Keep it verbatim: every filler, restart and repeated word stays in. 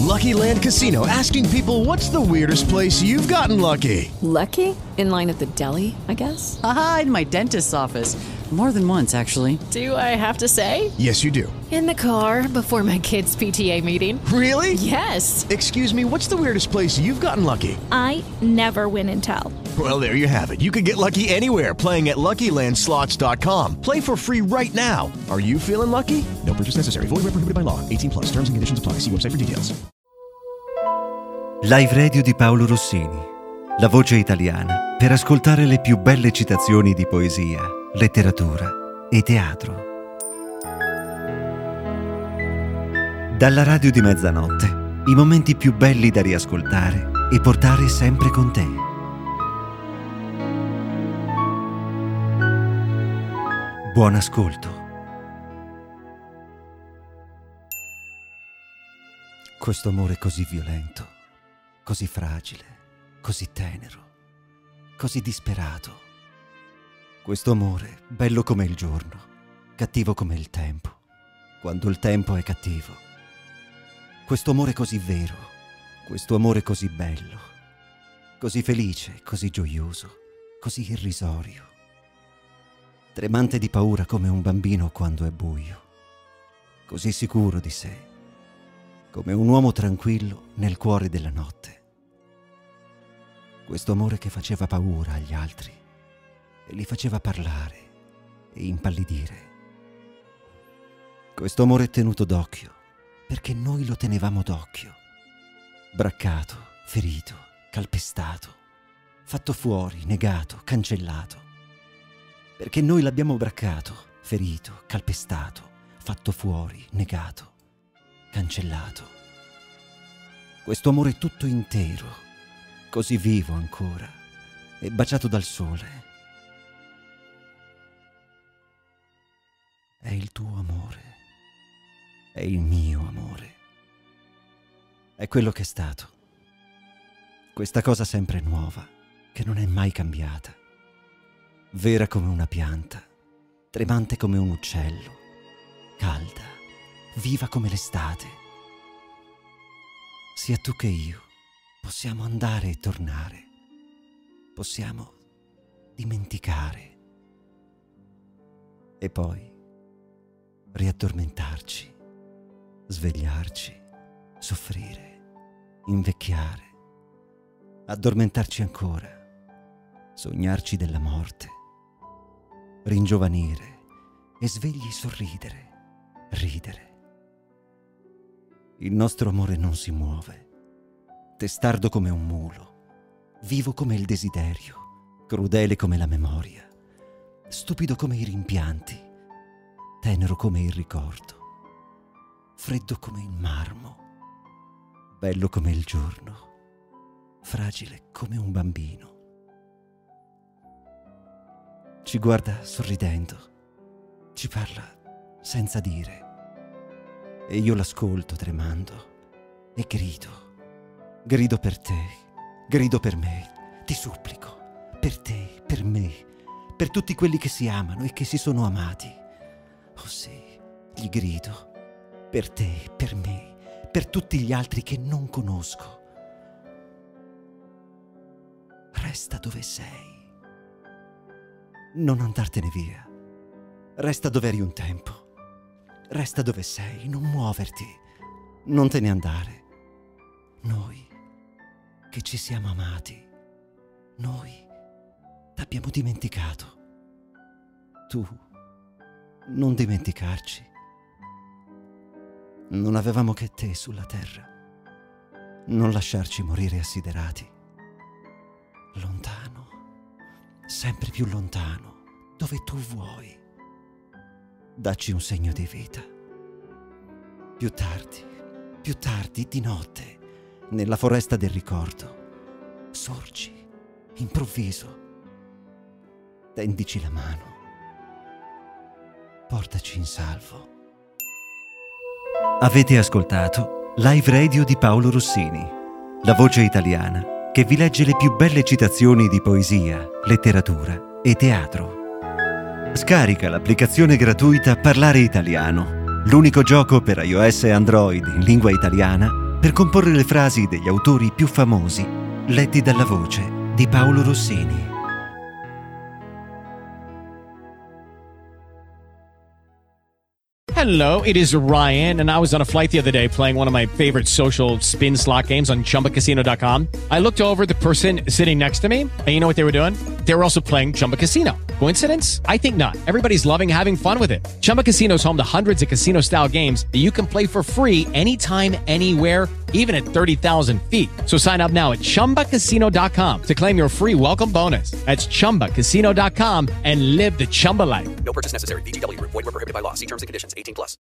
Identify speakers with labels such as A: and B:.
A: Lucky Land Casino, asking people, what's the weirdest place you've gotten lucky?
B: Lucky? In line at the deli, I guess?
C: Aha, in my dentist's office. More than once, actually.
B: Do I have to say?
A: Yes, you do.
B: In the car before my kids' P T A meeting.
A: Really?
B: Yes.
A: Excuse me, what's the weirdest place you've gotten lucky?
D: I never win and tell.
A: Well, there you have it. You can get lucky anywhere, playing at Lucky Land Slots dot com. Play for free right now. Are you feeling lucky? No purchase necessary. Void where prohibited by law. eighteen plus. Terms and conditions apply. See website for details.
E: Live Radio di Paolo Rossini. La voce italiana per ascoltare le più belle citazioni di poesia, letteratura e teatro. Dalla radio di mezzanotte, i momenti più belli da riascoltare e portare sempre con te. Buon ascolto. Questo amore così violento, così fragile, così tenero, così disperato. Questo amore bello come il giorno, cattivo come il tempo, quando il tempo è cattivo. Questo amore così vero, questo amore così bello, così felice, così gioioso, così irrisorio. Tremante di paura come un bambino quando è buio, così sicuro di sé, come un uomo tranquillo nel cuore della notte. Questo amore che faceva paura agli altri e li faceva parlare e impallidire. Questo amore tenuto d'occhio perché noi lo tenevamo d'occhio. Braccato, ferito, calpestato, fatto fuori, negato, cancellato. Perché noi l'abbiamo braccato, ferito, calpestato, fatto fuori, negato, cancellato. Questo amore tutto intero, così vivo ancora e baciato dal sole. È il tuo amore, è il mio amore, è quello che è stato, questa cosa sempre nuova, che non è mai cambiata, vera come una pianta, tremante come un uccello, calda, viva come l'estate. Sia tu che io possiamo andare e tornare, possiamo dimenticare e poi riaddormentarci, svegliarci, soffrire, invecchiare, addormentarci ancora, sognarci della morte, ringiovanire e svegli sorridere, ridere. Il nostro amore non si muove, testardo come un mulo, vivo come il desiderio, crudele come la memoria, stupido come i rimpianti, tenero come il ricordo, freddo come il marmo, bello come il giorno, fragile come un bambino. Ci guarda sorridendo, ci parla senza dire, e io l'ascolto tremando e grido. Grido per te, grido per me, ti supplico, per te, per me, per tutti quelli che si amano e che si sono amati. Oh sì, gli grido, per te, per me, per tutti gli altri che non conosco. Resta dove sei. Non andartene via. Resta dove eri un tempo. Resta dove sei, non muoverti, non te ne andare. Noi che ci siamo amati, noi t'abbiamo dimenticato. Tu non dimenticarci. Non avevamo che te sulla terra. Non lasciarci morire assiderati. Lontano, sempre più lontano, dove tu vuoi. Dacci un segno di vita. Più tardi, più tardi, di notte, nella foresta del ricordo, sorgi, improvviso. Tendici la mano. Portaci in salvo. Avete ascoltato Live Radio di Paolo Rossini, la voce italiana che vi legge le più belle citazioni di poesia, letteratura e teatro. Scarica l'applicazione gratuita Parlare Italiano, l'unico gioco per iOS e Android in lingua italiana per comporre le frasi degli autori più famosi, letti dalla voce di Paolo Rossini.
F: Hello, it is Ryan, and I was on a flight the other day playing one of my favorite social spin slot games on Chumba Casino dot com. I looked over at the person sitting next to me, and you know what they were doing? They were also playing Chumba Casino. Coincidence? I think not. Everybody's loving having fun with it. Chumba Casino is home to hundreds of casino-style games that you can play for free anytime, anywhere, even at thirty thousand feet. So sign up now at Chumba Casino dot com to claim your free welcome bonus. That's Chumba Casino dot com and live the Chumba life.
G: No purchase necessary. V G W. Void where prohibited by law. See terms and conditions. eighteen plus.